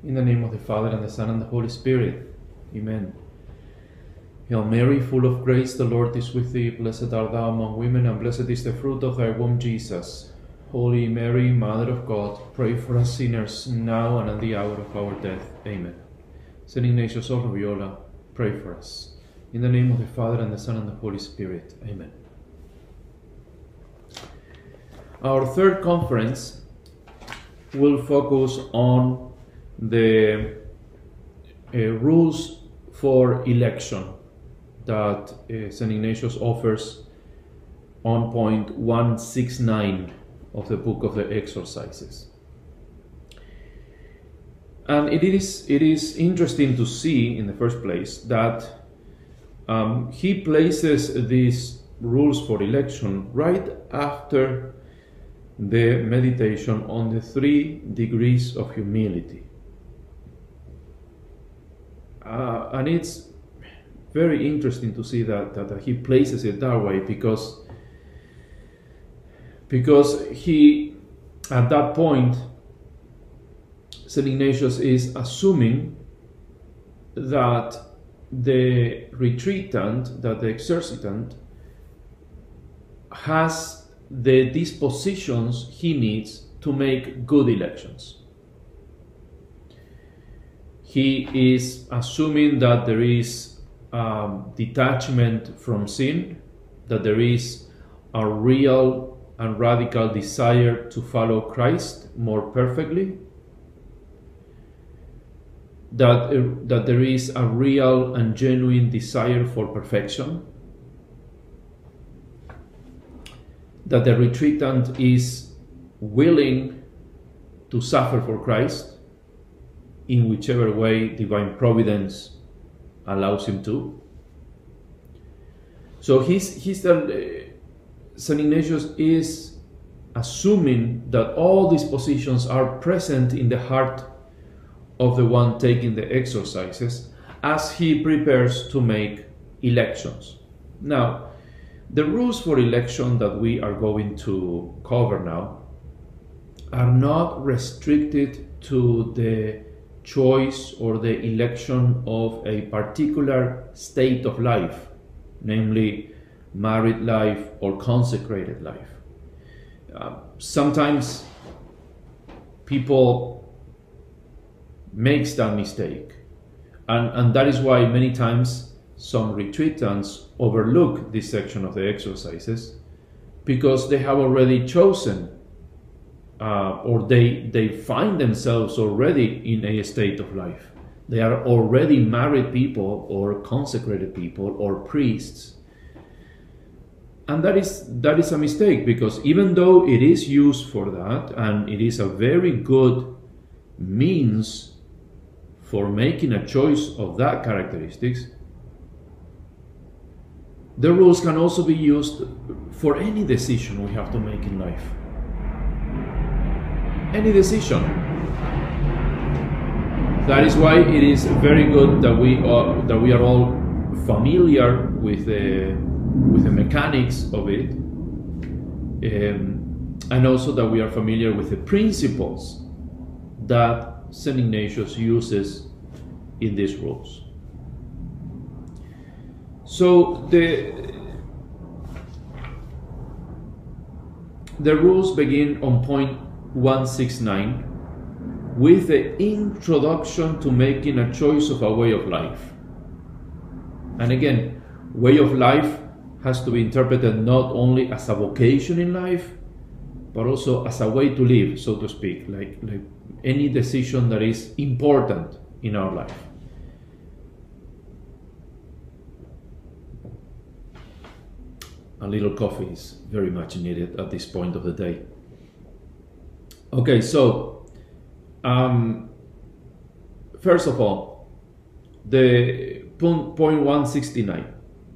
In the name of the Father, and the Son, and the Holy Spirit. Amen. Hail Mary, full of grace, the Lord is with thee. Blessed art thou among women, and blessed is the fruit of thy womb, Jesus. Holy Mary, Mother of God, pray for us sinners, now and at the hour of our death. Amen. Saint Ignatius of Loyola, pray for us. In the name of the Father, and the Son, and the Holy Spirit. Amen. Our third conference will focus on the rules for election that St. Ignatius offers on point 169 of the Book of the Exercises. And it is interesting to see, in the first place, that he places these rules for election right after the meditation on the 3 degrees of humility. And it's very interesting to see that he places it that way, because he, at that point, St. Ignatius is assuming that the retreatant, that the exercitant, has the dispositions he needs to make good elections. He is assuming that there is detachment from sin, that there is a real and radical desire to follow Christ more perfectly, that there is a real and genuine desire for perfection, that the retreatant is willing to suffer for Christ in whichever way divine providence allows him to. So St. Ignatius is assuming that all these positions are present in the heart of the one taking the exercises as he prepares to make elections. Now, the rules for election that we are going to cover now are not restricted to the choice or the election of a particular state of life, namely married life or consecrated life. Sometimes people make that mistake, and that is why many times some retreatants overlook this section of the exercises, because they have already chosen or they find themselves already in a state of life. They are already married people or consecrated people or priests. And that is a mistake, because even though it is used for that, and it is a very good means for making a choice of that characteristics, the rules can also be used for any decision we have to make in life. Any decision. That is why it is very good that we are all familiar with the mechanics of it, and also that we are familiar with the principles that St. Ignatius uses in these rules. So the rules begin on point 169 with the introduction to making a choice of a way of life. And again, way of life has to be interpreted not only as a vocation in life, but also as a way to live, so to speak, like any decision that is important in our life. A little coffee is very much needed at this point of the day. Okay, so first of all, the point 169.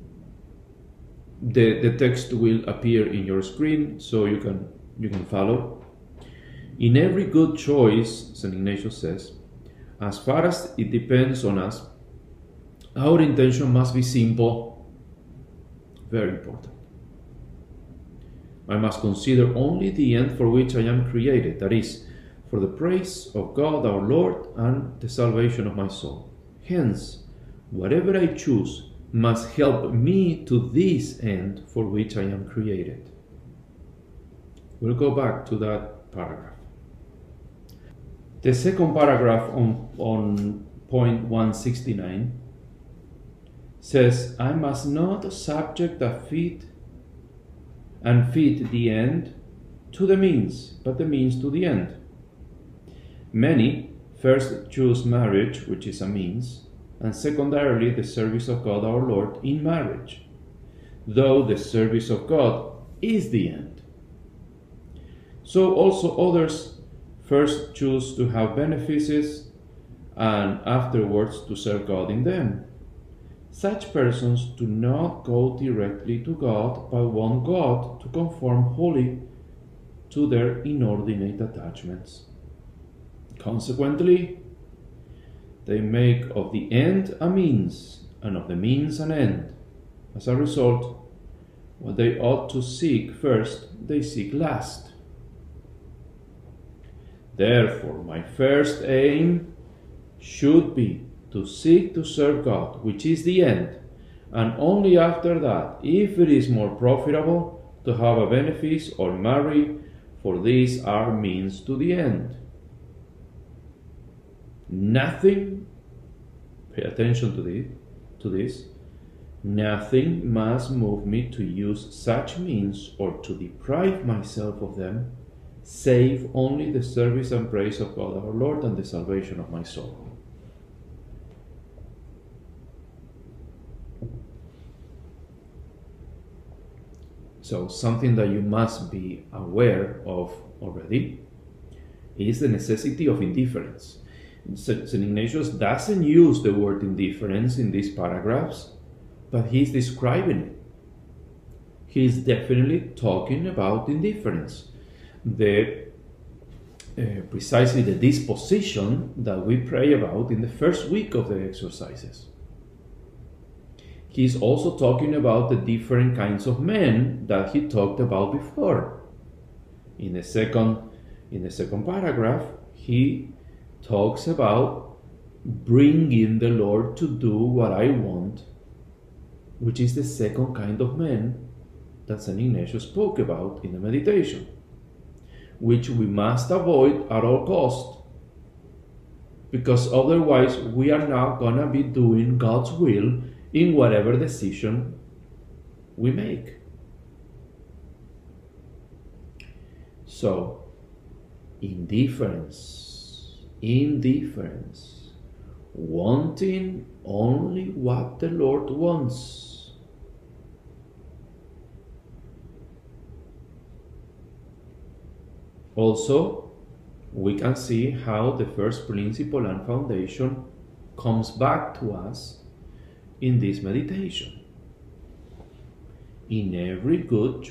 The text will appear in your screen, so you can follow. In every good choice, St. Ignatius says, as far as it depends on us, our intention must be simple, very important. I must consider only the end for which I am created, that is, for the praise of God our Lord and the salvation of my soul. Hence, whatever I choose must help me to this end for which I am created. We'll go back to that paragraph. The second paragraph on point 169 says, I must not subject the fit and fit the end to the means, but the means to the end. Many first choose marriage, which is a means, and secondarily the service of God our Lord in marriage, though the service of God is the end. So also others first choose to have benefices and afterwards to serve God in them. Such persons do not go directly to God, but want God to conform wholly to their inordinate attachments. Consequently, they make of the end a means, and of the means an end. As a result, what they ought to seek first, they seek last. Therefore, my first aim should be to seek to serve God, which is the end, and only after that, if it is more profitable to have a benefice or marry, for these are means to the end. Nothing, pay attention to this, nothing must move me to use such means or to deprive myself of them, save only the service and praise of God our Lord and the salvation of my soul. So something that you must be aware of already is the necessity of indifference. St. Ignatius doesn't use the word indifference in these paragraphs, but he's describing it. He's definitely talking about indifference. Precisely the disposition that we pray about in the first week of the exercises. He's also talking about the different kinds of men that he talked about before. In the second paragraph, he talks about bringing the Lord to do what I want, which is the second kind of men that St. Ignatius spoke about in the meditation, which we must avoid at all cost, because otherwise we are not going to be doing God's will in whatever decision we make. So, indifference, wanting only what the Lord wants. Also, we can see how the first principle and foundation comes back to us in this meditation. In every good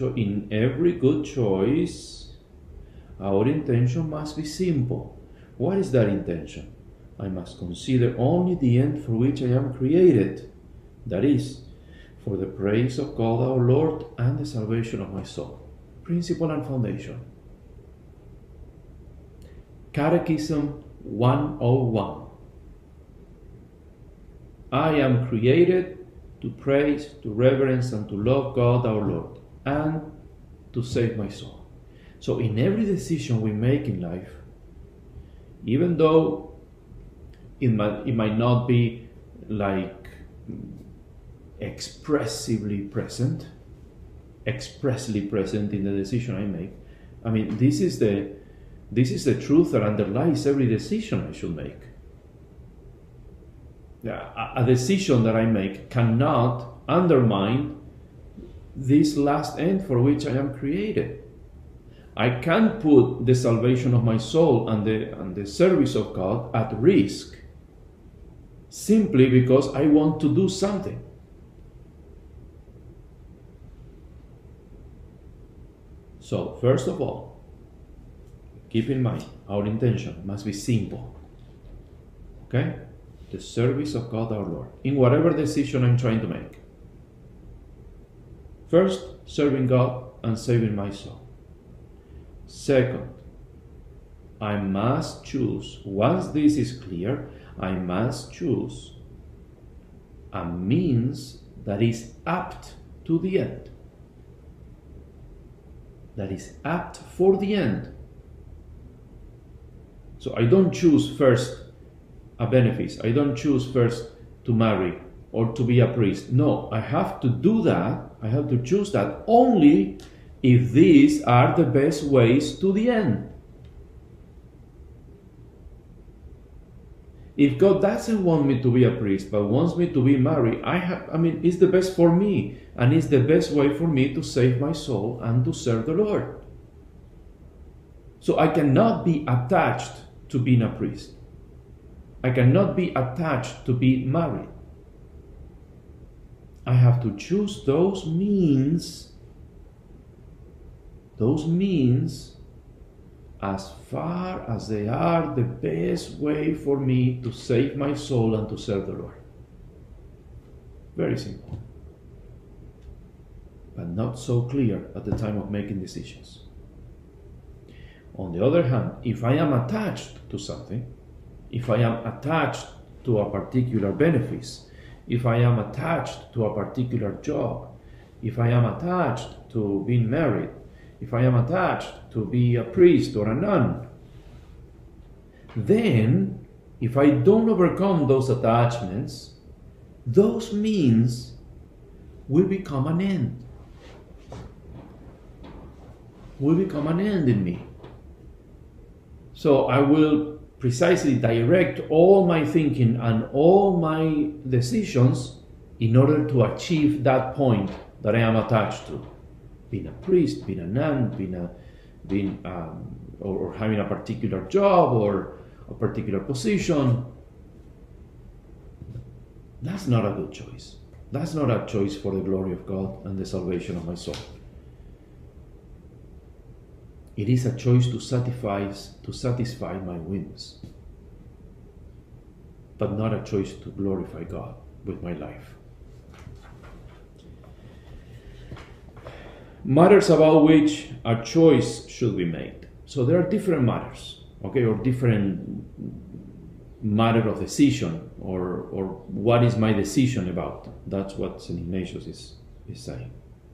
choice, our intention must be simple. What is that intention? I must consider only the end for which I am created, that is, for the praise of God our Lord and the salvation of my soul. Principle and foundation. Catechism 101. I am created to praise, to reverence, and to love God our Lord, and to save my soul. So in every decision we make in life, even though it might not be like expressly present in the decision I make, I mean, this is the truth that underlies every decision I should make. A decision that I make cannot undermine this last end for which I am created. I can't put the salvation of my soul and the service of God at risk simply because I want to do something. So, first of all, keep in mind, our intention must be simple. Okay? The service of God our Lord, in whatever decision I'm trying to make. First, serving God and saving my soul. Second, I must choose, once this is clear, I must choose a means that is apt to the end, that is apt for the end. So I don't choose first a benefice, I don't choose first to marry or to be a priest. No, I have to do that, I have to choose that only if these are the best ways to the end. If God doesn't want me to be a priest, but wants me to be married, it's the best for me, and it's the best way for me to save my soul and to serve the Lord. So I cannot be attached to being a priest. I cannot be attached to be married. I have to choose those means as far as they are the best way for me to save my soul and to serve the Lord. Very simple. But not so clear at the time of making decisions. On the other hand, if I am attached to something, if I am attached to a particular benefice, if I am attached to a particular job, if I am attached to being married, if I am attached to be a priest or a nun, then if I don't overcome those attachments, those means will become an end. Will become an end in me. So I will precisely direct all my thinking and all my decisions in order to achieve that point that I am attached to. Being a priest, being a nun, or having a particular job or a particular position. That's not a good choice. That's not a choice for the glory of God and the salvation of my soul. It is a choice to satisfy my whims, but not a choice to glorify God with my life. Matters about which a choice should be made. So there are different matters, okay, or different matter of decision, or what is my decision about. That's what St. Ignatius is saying.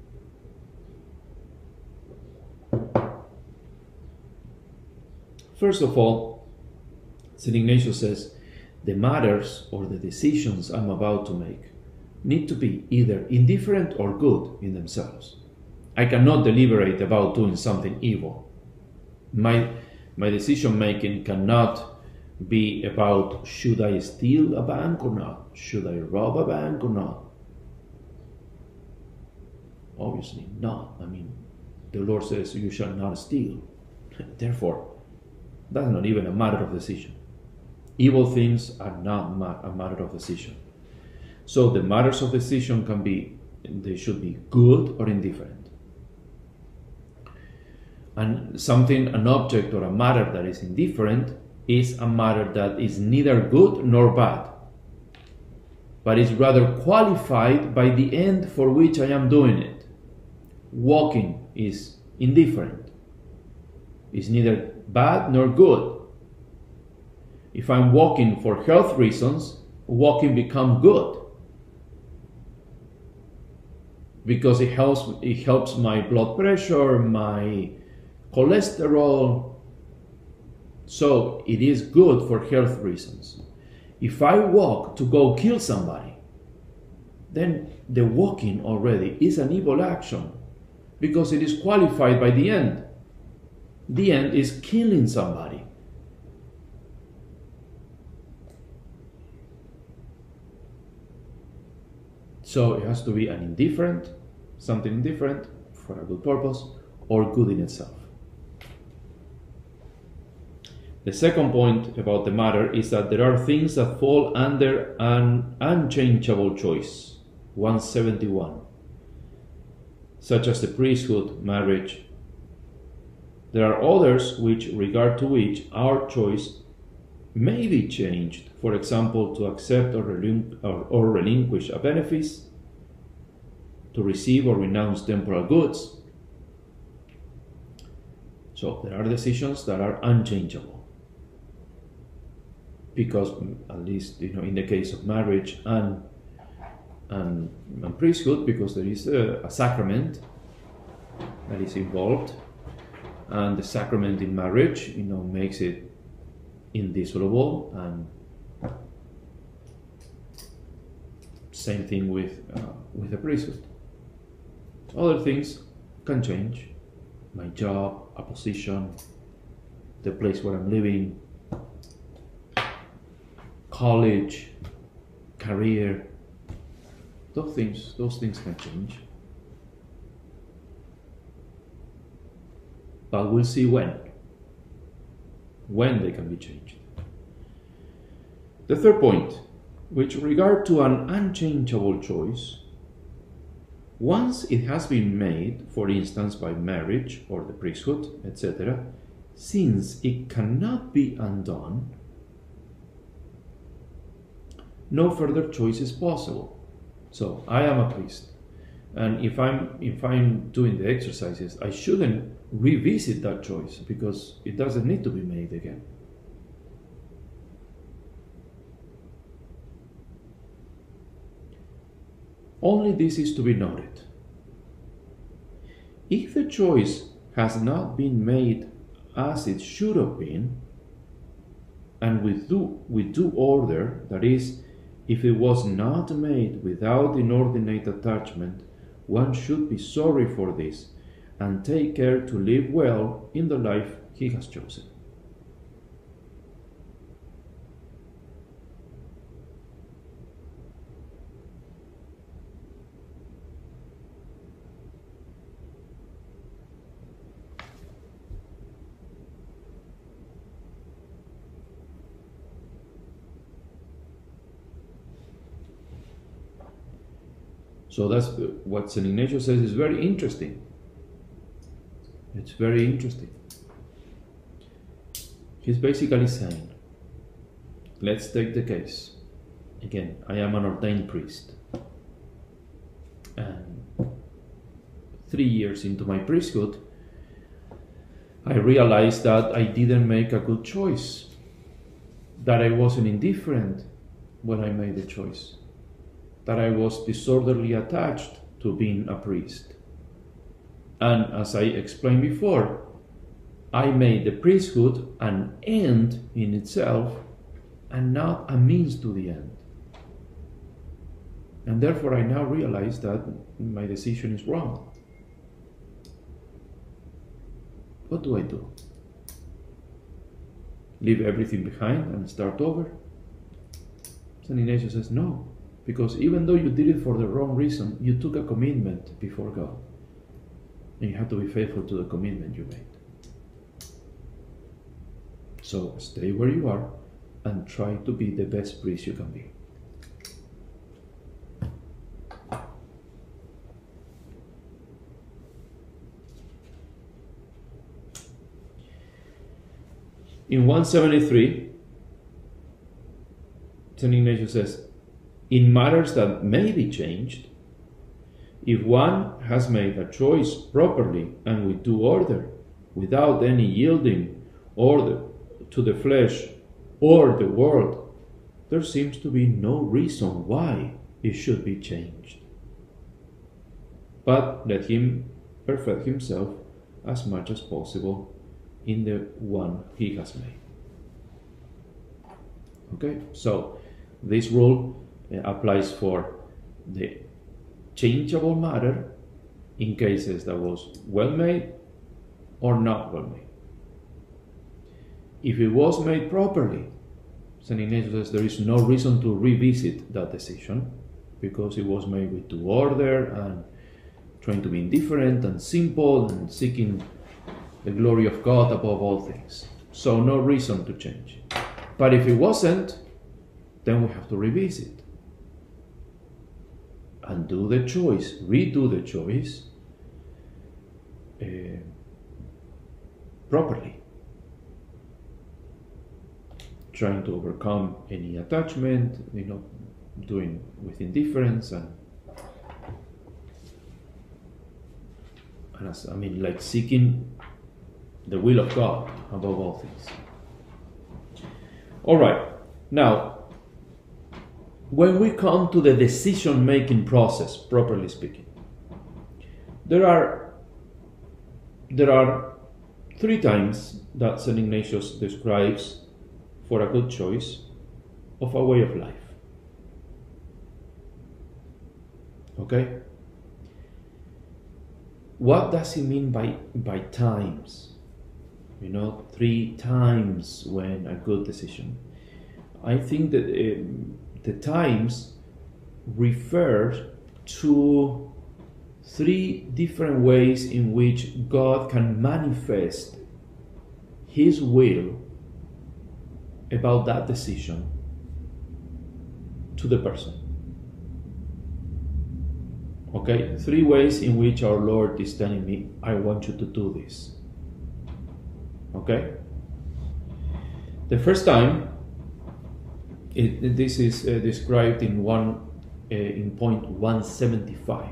First of all, St. Ignatius says, the matters or the decisions I'm about to make need to be either indifferent or good in themselves. I cannot deliberate about doing something evil. My decision making cannot be about, should I steal a bank or not? Should I rob a bank or not? Obviously not. The Lord says you shall not steal. Therefore, that's not even a matter of decision. Evil things are not a matter of decision. So the matters of decision they should be good or indifferent. And an object or a matter that is indifferent is a matter that is neither good nor bad, but is rather qualified by the end for which I am doing it. Walking is indifferent. It's neither bad nor good. If I'm walking for health reasons, walking becomes good, because it helps my blood pressure, my cholesterol. So it is good for health reasons. If I walk to go kill somebody, then the walking already is an evil action, because it is qualified by the end. The end is killing somebody. So it has to be something indifferent for a good purpose, or good in itself. The second point about the matter is that there are things that fall under an unchangeable choice, 171, such as the priesthood, marriage. There are others with regard to which our choice may be changed, for example, to accept or relinquish a benefice, to receive or renounce temporal goods. So there are decisions that are unchangeable. because at least in the case of marriage and priesthood, because there is a sacrament that is involved, and the sacrament in marriage makes it indissoluble, and same thing with the priesthood. Other things can change: my job, a position, the place where I'm living, college, career. Those things can change. But we'll see when they can be changed. The third point, with regard to an unchangeable choice, once it has been made, for instance by marriage or the priesthood, etc., since it cannot be undone, no further choice is possible. So I am a priest, and if I'm doing the exercises, I shouldn't revisit that choice, because it doesn't need to be made again. Only this is to be noted: if the choice has not been made as it should have been, and with due order, that is, if it was not made without inordinate attachment, one should be sorry for this and take care to live well in the life he has chosen. So that's what St. Ignatius says is very interesting. It's very interesting. He's basically saying, let's take the case. Again, I am an ordained priest. And 3 years into my priesthood, I realized that I didn't make a good choice. That I wasn't indifferent when I made the choice. That I was disorderly attached to being a priest. And as I explained before, I made the priesthood an end in itself and not a means to the end. And therefore I now realize that my decision is wrong. What do I do? Leave everything behind and start over? St. Ignatius says no. Because even though you did it for the wrong reason, you took a commitment before God. And you have to be faithful to the commitment you made. So stay where you are and try to be the best priest you can be. In 173, St. Ignatius says, in matters that may be changed, if one has made a choice properly and with due order, without any yielding to the flesh or the world, there seems to be no reason why it should be changed. But let him perfect himself as much as possible in the one he has made. Okay, so this rule applies for the changeable matter in cases that was well made or not well made. If it was made properly, St. Ignatius says there is no reason to revisit that decision, because it was made with due order and trying to be indifferent and simple and seeking the glory of God above all things. So no reason to change. But if it wasn't, then we have to revisit and do the choice, redo the choice properly, trying to overcome any attachment, doing with indifference and like seeking the will of God above all things. All right. Now, when we come to the decision-making process, properly speaking, there are 3 times that St. Ignatius describes for a good choice of a way of life. Okay? What does he mean by times? 3 times when a good decision. I think that the times refer to 3 different ways in which God can manifest His will about that decision to the person. Okay, 3 ways in which our Lord is telling me, I want you to do this. Okay? The first time, this is described in point 175.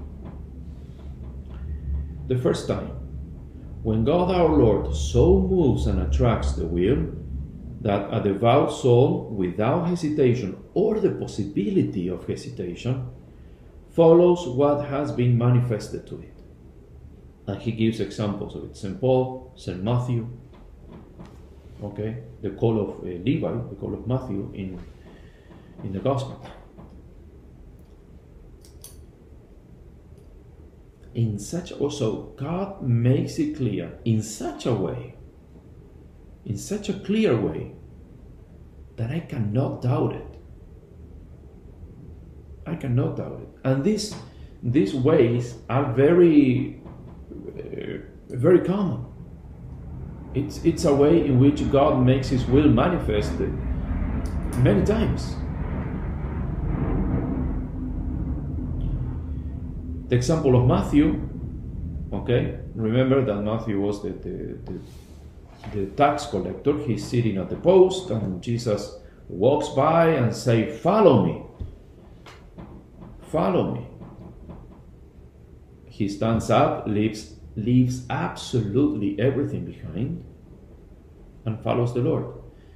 The first time, when God our Lord so moves and attracts the will that a devout soul, without hesitation or the possibility of hesitation, follows what has been manifested to it. And he gives examples of it. St. Paul, St. Matthew, okay, the call of Levi, the call of Matthew in the Gospel. Also, God makes it clear in such a way, in such a clear way, that I cannot doubt it. I cannot doubt it. And these ways are very common. It's a way in which God makes His will manifested many times. The example of Matthew, okay? Remember that Matthew was the tax collector. He's sitting at the post, and Jesus walks by and says, "Follow me. Follow me." He stands up, leaves absolutely everything behind, and follows the Lord.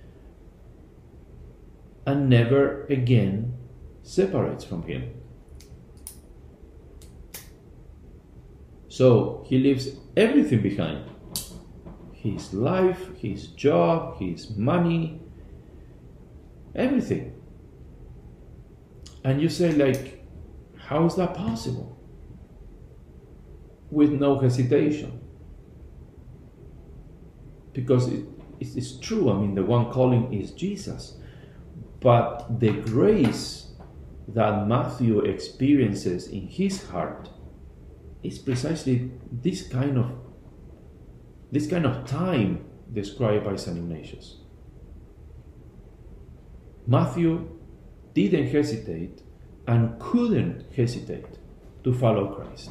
And never again separates from Him. So he leaves everything behind. His life, his job, his money, everything. And you say, like, how is that possible? With no hesitation. Because it's true, I mean, the one calling is Jesus. But the grace that Matthew experiences in his heart is precisely this kind of time described by St. Ignatius. Matthew didn't hesitate and couldn't hesitate to follow Christ.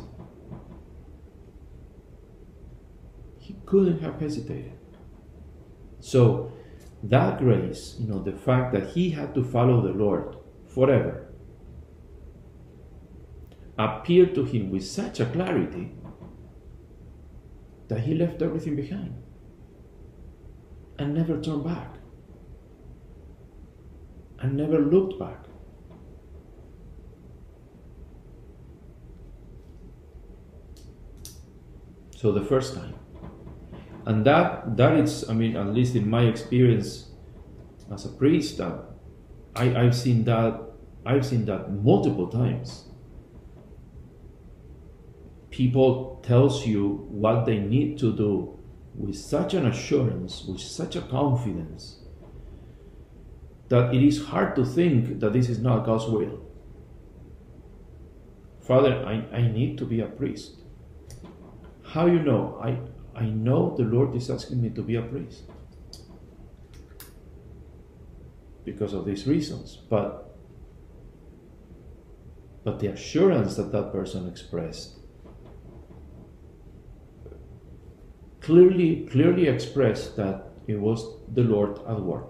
He couldn't have hesitated. So that grace, the fact that he had to follow the Lord forever, appeared to him with such a clarity that he left everything behind and never turned back and never looked back. So the first time. And that is, I mean, at least in my experience as a priest, I've seen that multiple times. People tells you what they need to do with such an assurance, with such a confidence, that it is hard to think that this is not God's will. Father, I need to be a priest. How you know? I know the Lord is asking me to be a priest because of these reasons, but the assurance that person expressed clearly expressed that it was the Lord at work.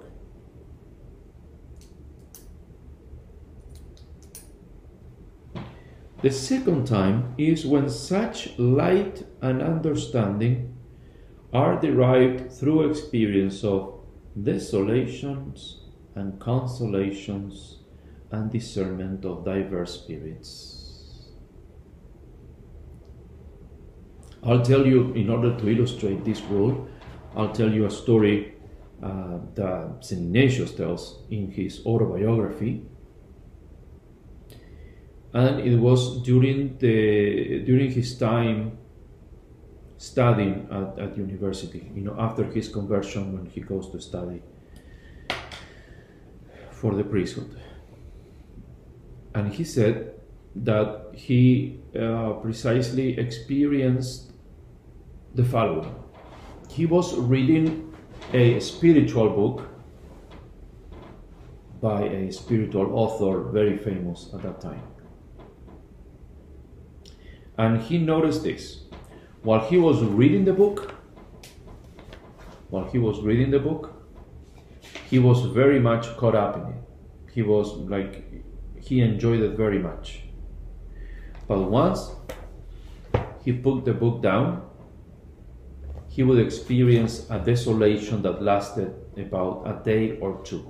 The second time is when such light and understanding are derived through experience of desolations and consolations and discernment of diverse spirits. I'll tell you, in order to illustrate this rule, I'll tell you a story that St. Ignatius tells in his autobiography. And it was during his time studying at university, after his conversion, when he goes to study for the priesthood. And he said that he precisely experienced the following. He was reading a spiritual book by a spiritual author, very famous at that time. And he noticed this. While he was reading the book, he was very much caught up in it. He enjoyed it very much. But once he put the book down, he would experience a desolation that lasted about a day or two.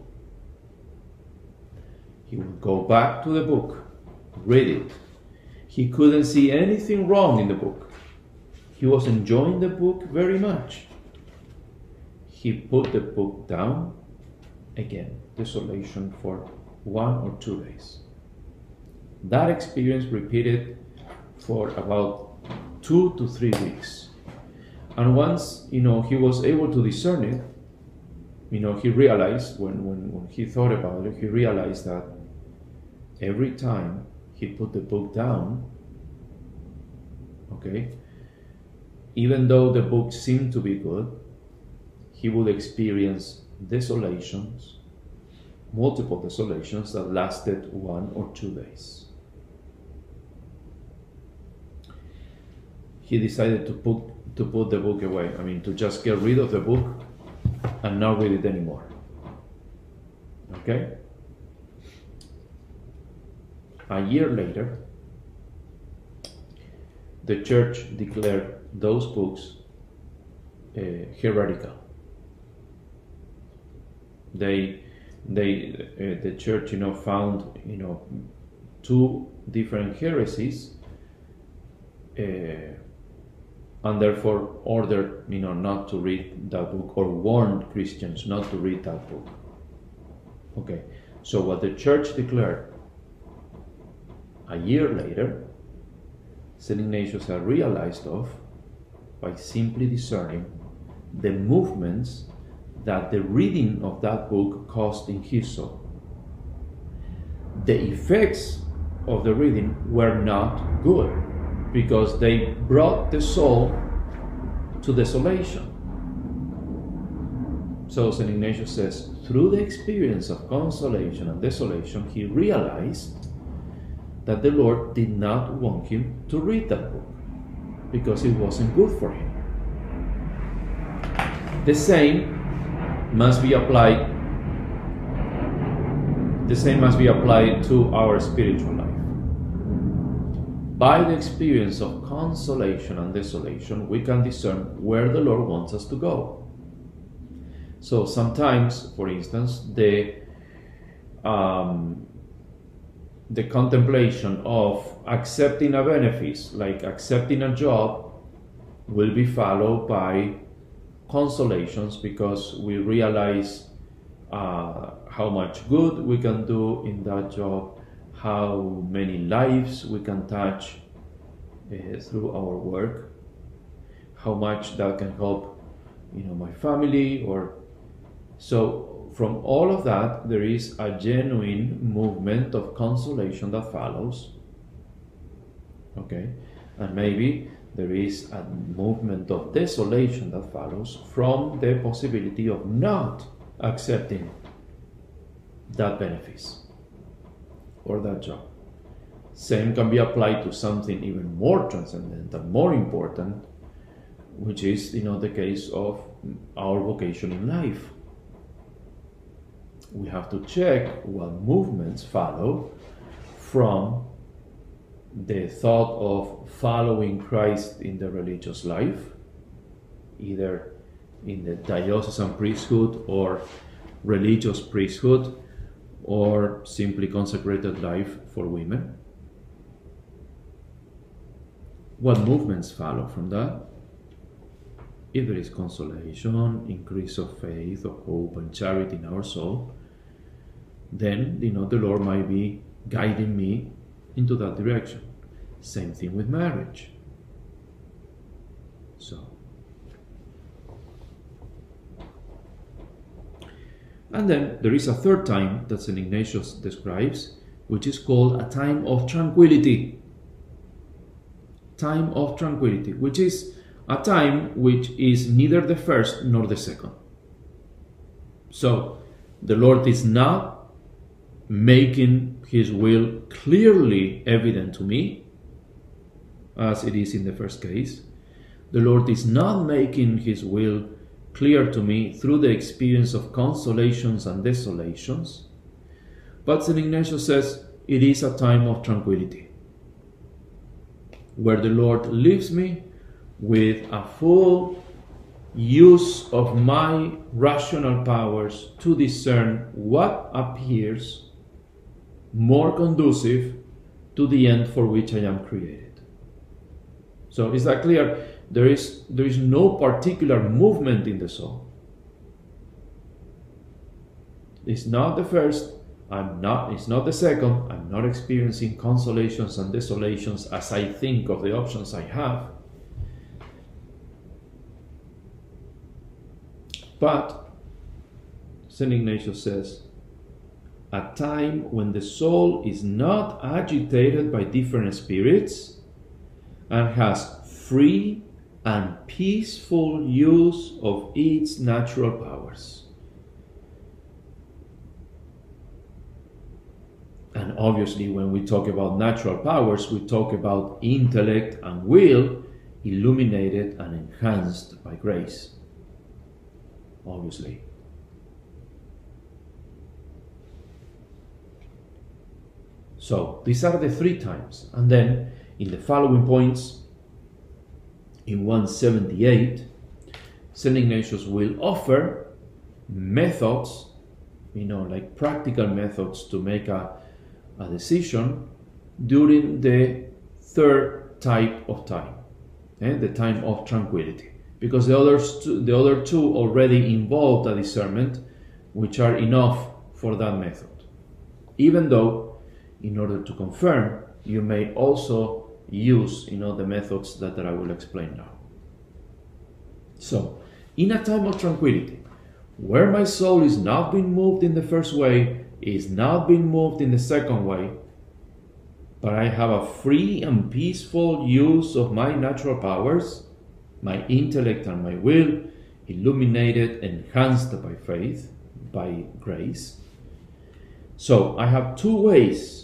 He would go back to the book, read it. He couldn't see anything wrong in the book. He was enjoying the book very much. He put the book down again, desolation for 1 or 2 days. That experience repeated for about 2 to 3 weeks. And once, he was able to discern it, he realized, when he thought about it, he realized that every time he put the book down, even though the book seemed to be good, he would experience desolations, multiple desolations that lasted 1 or 2 days. He decided to put the book away. To just get rid of the book and not read it anymore. Okay? A year later, the church declared those books heretical. The church, found, 2 different heresies, and therefore ordered, not to read that book, or warned Christians not to read that book. Okay, so what the church declared a year later, St. Ignatius had realized of by simply discerning the movements that the reading of that book caused in his soul. The effects of the reading were not good, because they brought the soul to desolation. So St. Ignatius says, through the experience of consolation and desolation, he realized that the Lord did not want him to read that book, because it wasn't good for him. The same must be applied to our spiritual life. By the experience of consolation and desolation, we can discern where the Lord wants us to go. So sometimes, for instance, the contemplation of accepting a benefit, like accepting a job, will be followed by consolations, because we realize how much good we can do in that job, how many lives we can touch through our work, how much that can help, my family. Or so from all of that, there is a genuine movement of consolation that follows. Okay, and maybe there is a movement of desolation that follows from the possibility of not accepting that benefit or that job. Same can be applied to something even more transcendental, more important, which is, the case of our vocation in life. We have to check what movements follow from the thought of following Christ in the religious life, either in the diocesan priesthood or religious priesthood or simply consecrated life for women. What movements follow from that? If there is consolation, increase of faith, of hope, and charity in our soul, then the Lord might be guiding me into that direction. Same thing with marriage. So, and then there is a third time that St. Ignatius describes, which is called a time of tranquility. Time of tranquility, which is a time which is neither the first nor the second. So, the Lord is not making His will clearly evident to me, as it is in the first case. The Lord is not making His will clear to me through the experience of consolations and desolations, but St. Ignatius says it is a time of tranquility, where the Lord leaves me with a full use of my rational powers to discern what appears more conducive to the end for which I am created. So is that clear? There is no particular movement in the soul. It's not the first, it's not the second, I'm not experiencing consolations and desolations as I think of the options I have. But St. Ignatius says, a time when the soul is not agitated by different spirits and has free and peaceful use of its natural powers. And obviously, when we talk about natural powers, we talk about intellect and will illuminated and enhanced by grace. Obviously. So, these are the three times. And then, in the following points, in 178, St. Ignatius will offer methods, like practical methods to make a decision during the third type of time, the time of tranquility. Because the other two already involved a discernment, which are enough for that method. Even though, in order to confirm, you may also use the methods that I will explain now. So, in a time of tranquility, where my soul is not being moved in the first way, is not being moved in the second way, but I have a free and peaceful use of my natural powers, my intellect and my will, illuminated, enhanced by faith, by grace. So I have two ways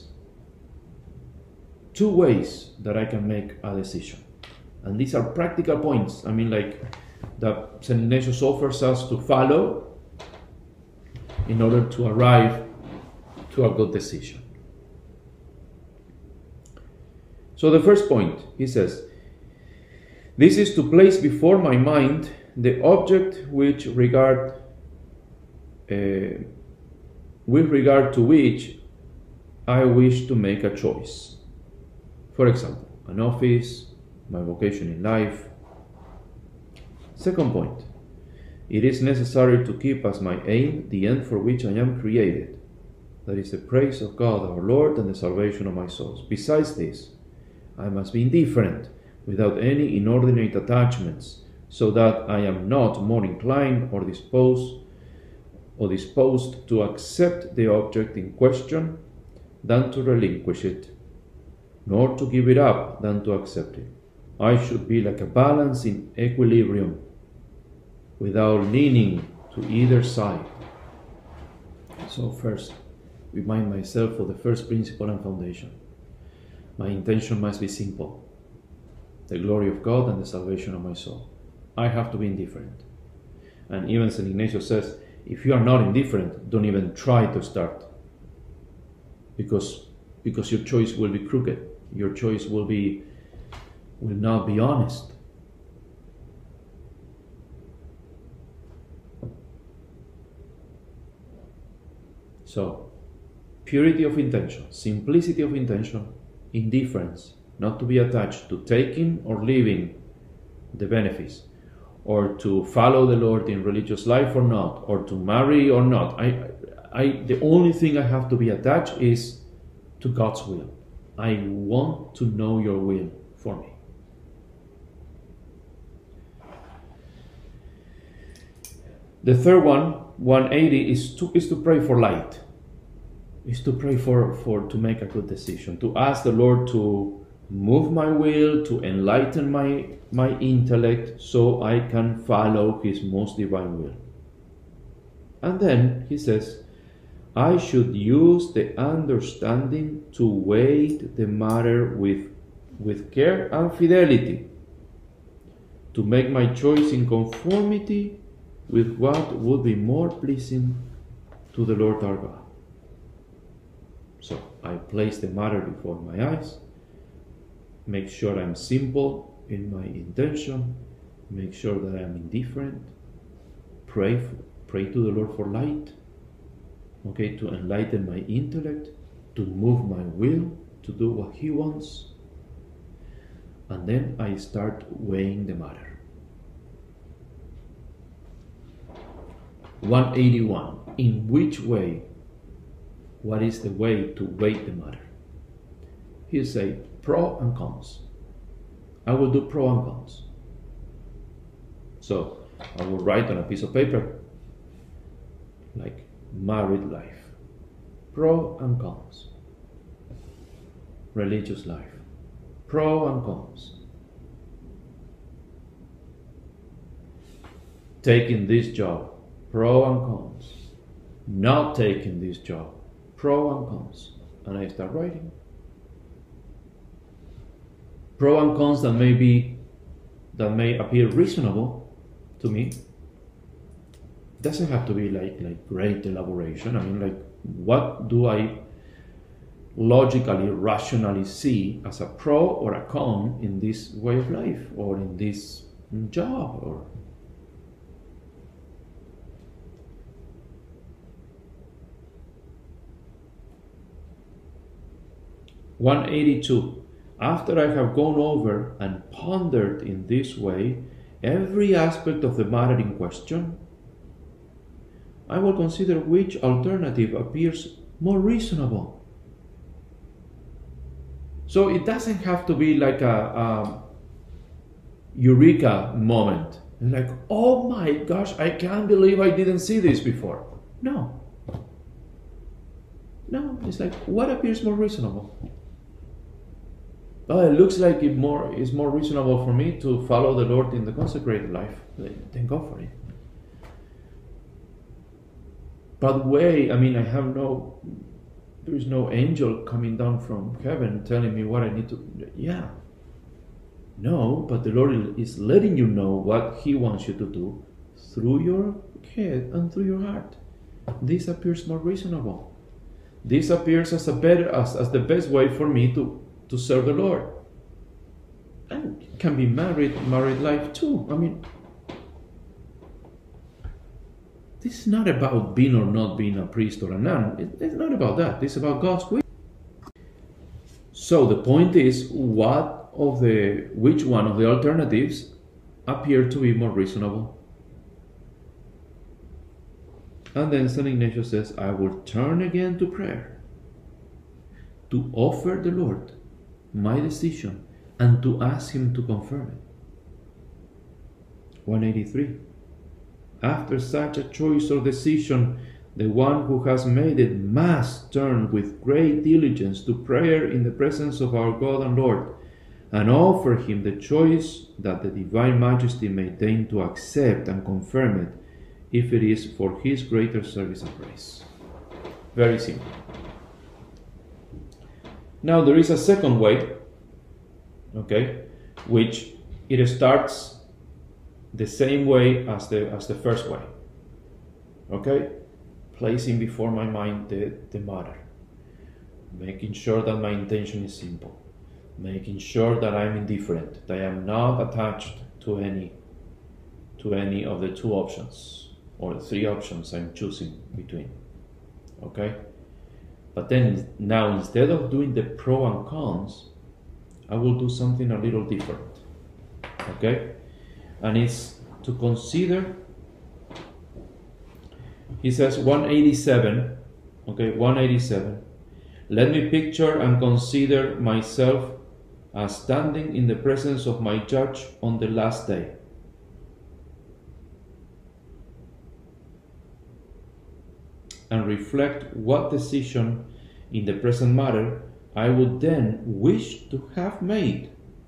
that I can make a decision. And these are practical points, that St. Ignatius offers us to follow in order to arrive to a good decision. So the first point, he says, this is to place before my mind the object with regard to which I wish to make a choice. For example, an office, my vocation in life. Second point, it is necessary to keep as my aim the end for which I am created, that is the praise of God our Lord and the salvation of my souls. Besides this, I must be indifferent, without any inordinate attachments, so that I am not more inclined or disposed to accept the object in question than to relinquish it, nor to give it up than to accept it. I should be like a balance in equilibrium, without leaning to either side. So first, remind myself of the first principle and foundation. My intention must be simple: the glory of God and the salvation of my soul. I have to be indifferent. And even St. Ignatius says, if you are not indifferent, don't even try to start. Because your choice will be crooked. Your choice will not be honest. So, purity of intention, simplicity of intention, indifference, not to be attached to taking or leaving the benefits, or to follow the Lord in religious life or not, or to marry or not. The only thing I have to be attached is to God's will. I want to know your will for me. The third one, 180, is to pray for light. Is to pray to make a good decision, to ask the Lord to move my will, to enlighten my intellect so I can follow His most divine will. And then he says, I should use the understanding to weigh the matter with care and fidelity, to make my choice in conformity with what would be more pleasing to the Lord our God. So I place the matter before my eyes, make sure I'm simple in my intention, make sure that I'm indifferent, pray to the Lord for light, okay, to enlighten my intellect, to move my will, to do what He wants, and then I start weighing the matter. 181. In which way? What is the way to weigh the matter? He say pro and cons. I will do pro and cons. So I will write on a piece of paper like married life, pro and cons. Religious life, pro and cons. Taking this job, pro and cons. Not taking this job, pro and cons. And I start writing. Pro and cons that may appear reasonable to me. Doesn't have to be like great elaboration. I mean, like, what do I logically, rationally see as a pro or a con in this way of life, or in this job, or 182. After I have gone over and pondered in this way every aspect of the matter in question, I will consider which alternative appears more reasonable. So it doesn't have to be like a eureka moment. Like, oh my gosh, I can't believe I didn't see this before. No, it's like, what appears more reasonable? Oh, it looks like it's more reasonable for me to follow the Lord in the consecrated life. Then go for it. By the way, I mean, there is no angel coming down from heaven telling me what I need to. Yeah. No, but the Lord is letting you know what He wants you to do through your head and through your heart. This appears more reasonable. This appears as the best way for me to serve the Lord. And it can be married life too. I mean, this is not about being or not being a priest or a nun. It's not about that. It's about God's will. So the point is, which one of the alternatives appear to be more reasonable? And then St. Ignatius says, I will turn again to prayer, to offer the Lord my decision and to ask Him to confirm it. 183. After such a choice or decision, the one who has made it must turn with great diligence to prayer in the presence of our God and Lord, and offer Him the choice that the Divine Majesty may deign to accept and confirm it, if it is for His greater service and praise. Very simple. Now there is a second way, okay, which it starts the same way as the first way, okay, placing before my mind the matter, making sure that my intention is simple, making sure that I'm indifferent, that I am not attached to any of the two options or the three options I'm choosing between, Okay? But then now, instead of doing the pro and cons, I will do something a little different. Okay? And it's to consider, he says 187, okay, 187. Let me picture and consider myself as standing in the presence of my judge on the last day. And reflect what decision in the present matter I would then wish to have made.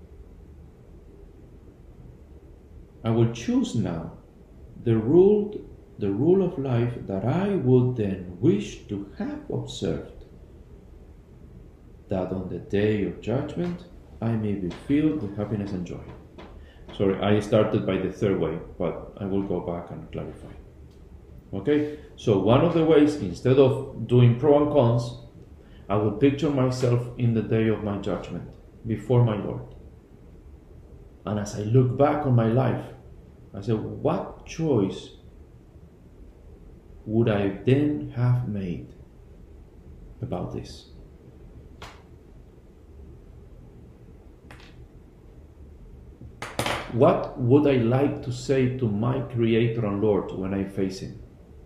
I will choose now the rule of life that I would then wish to have observed, that on the day of judgment I may be filled with happiness and joy. Sorry, I started by the third way, but I will go back and clarify. Okay, so one of the ways, instead of doing pro and cons, I will picture myself in the day of my judgment before my Lord. And as I look back on my life, I say, what choice would I then have made about this? What would I like to say to my Creator and Lord when I face Him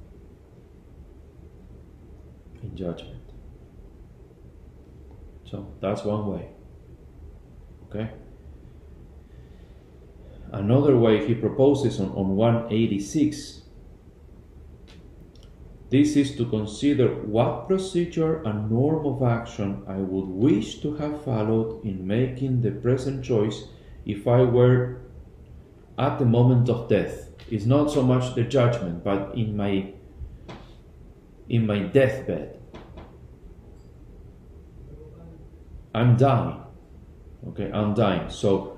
in judgment? So that's one way. Okay? Another way he proposes on 186, this is to consider what procedure and norm of action I would wish to have followed in making the present choice if I were at the moment of death. It's not so much the judgment, but in my deathbed. I'm dying. Okay, I'm dying. So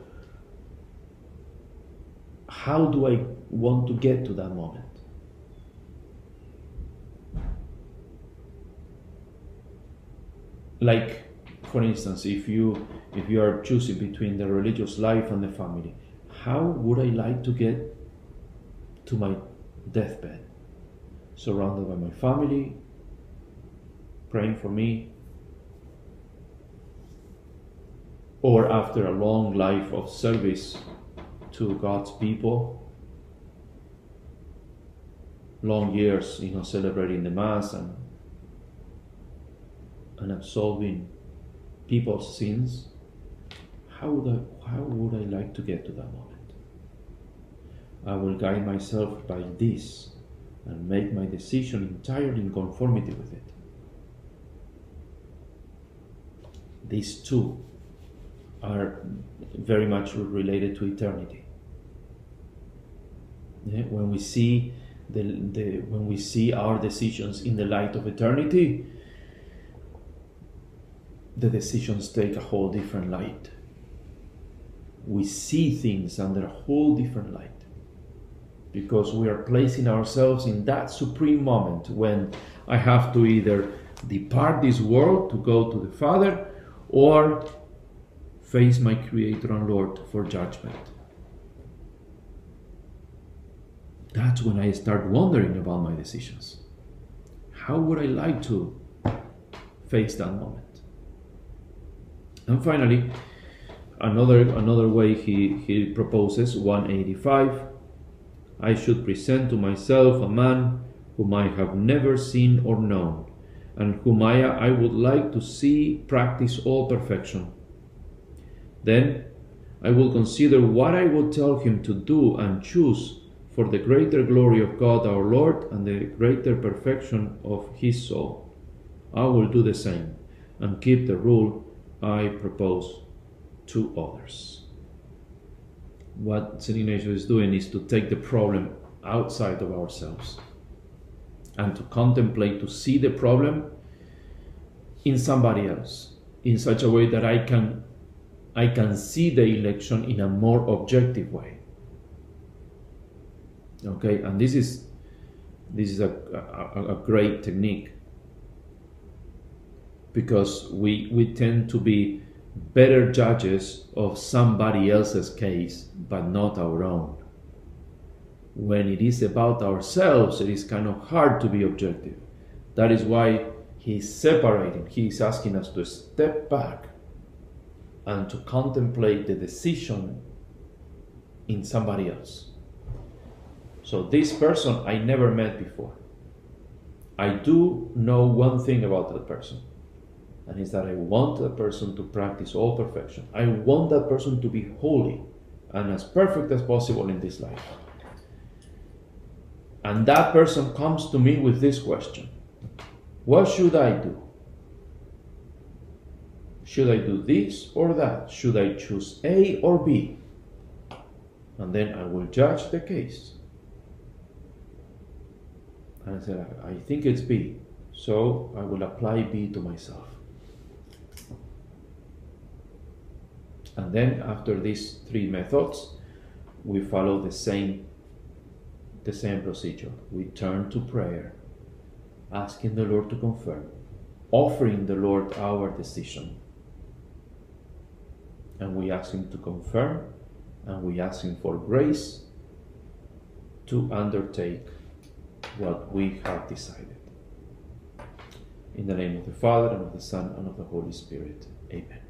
how do I want to get to that moment? Like, for instance, if you are choosing between the religious life and the family, how would I like to get to my deathbed? Surrounded by my family, praying for me, or after a long life of service to God's people, long years, celebrating the Mass and absolving people's sins. How would I like to get to that moment? I will guide myself by this and make my decision entirely in conformity with it. These two are very much related to eternity. Yeah? When we see when we see our decisions in the light of eternity, the decisions take a whole different light. We see things under a whole different light, because we are placing ourselves in that supreme moment when I have to either depart this world to go to the Father, or face my Creator and Lord for judgment. That's when I start wondering about my decisions. How would I like to face that moment? And finally, another way he proposes, 185, I should present to myself a man whom I have never seen or known, and whom I would like to see practice all perfection. Then I will consider what I will tell him to do and choose for the greater glory of God our Lord and the greater perfection of his soul. I will do the same and keep the rule I propose to others. What St. Ignatius is doing is to take the problem outside of ourselves and to contemplate, to see the problem in somebody else in such a way that I can see the election in a more objective way. Okay, and this is a great technique, because we tend to be better judges of somebody else's case, but not our own. When it is about ourselves, it is kind of hard to be objective. That is why he's separating, he's asking us to step back and to contemplate the decision in somebody else. So this person I never met before. I do know one thing about that person, and is that I want that person to practice all perfection. I want that person to be holy and as perfect as possible in this life. And that person comes to me with this question: what should I do? Should I do this or that? Should I choose A or B? And then I will judge the case. And I said, I think it's B, so I will apply B to myself. And then after these three methods, we follow the same procedure. We turn to prayer, asking the Lord to confirm, offering the Lord our decision. And we ask Him to confirm, and we ask Him for grace to undertake what we have decided. In the name of the Father, and of the Son, and of the Holy Spirit. Amen.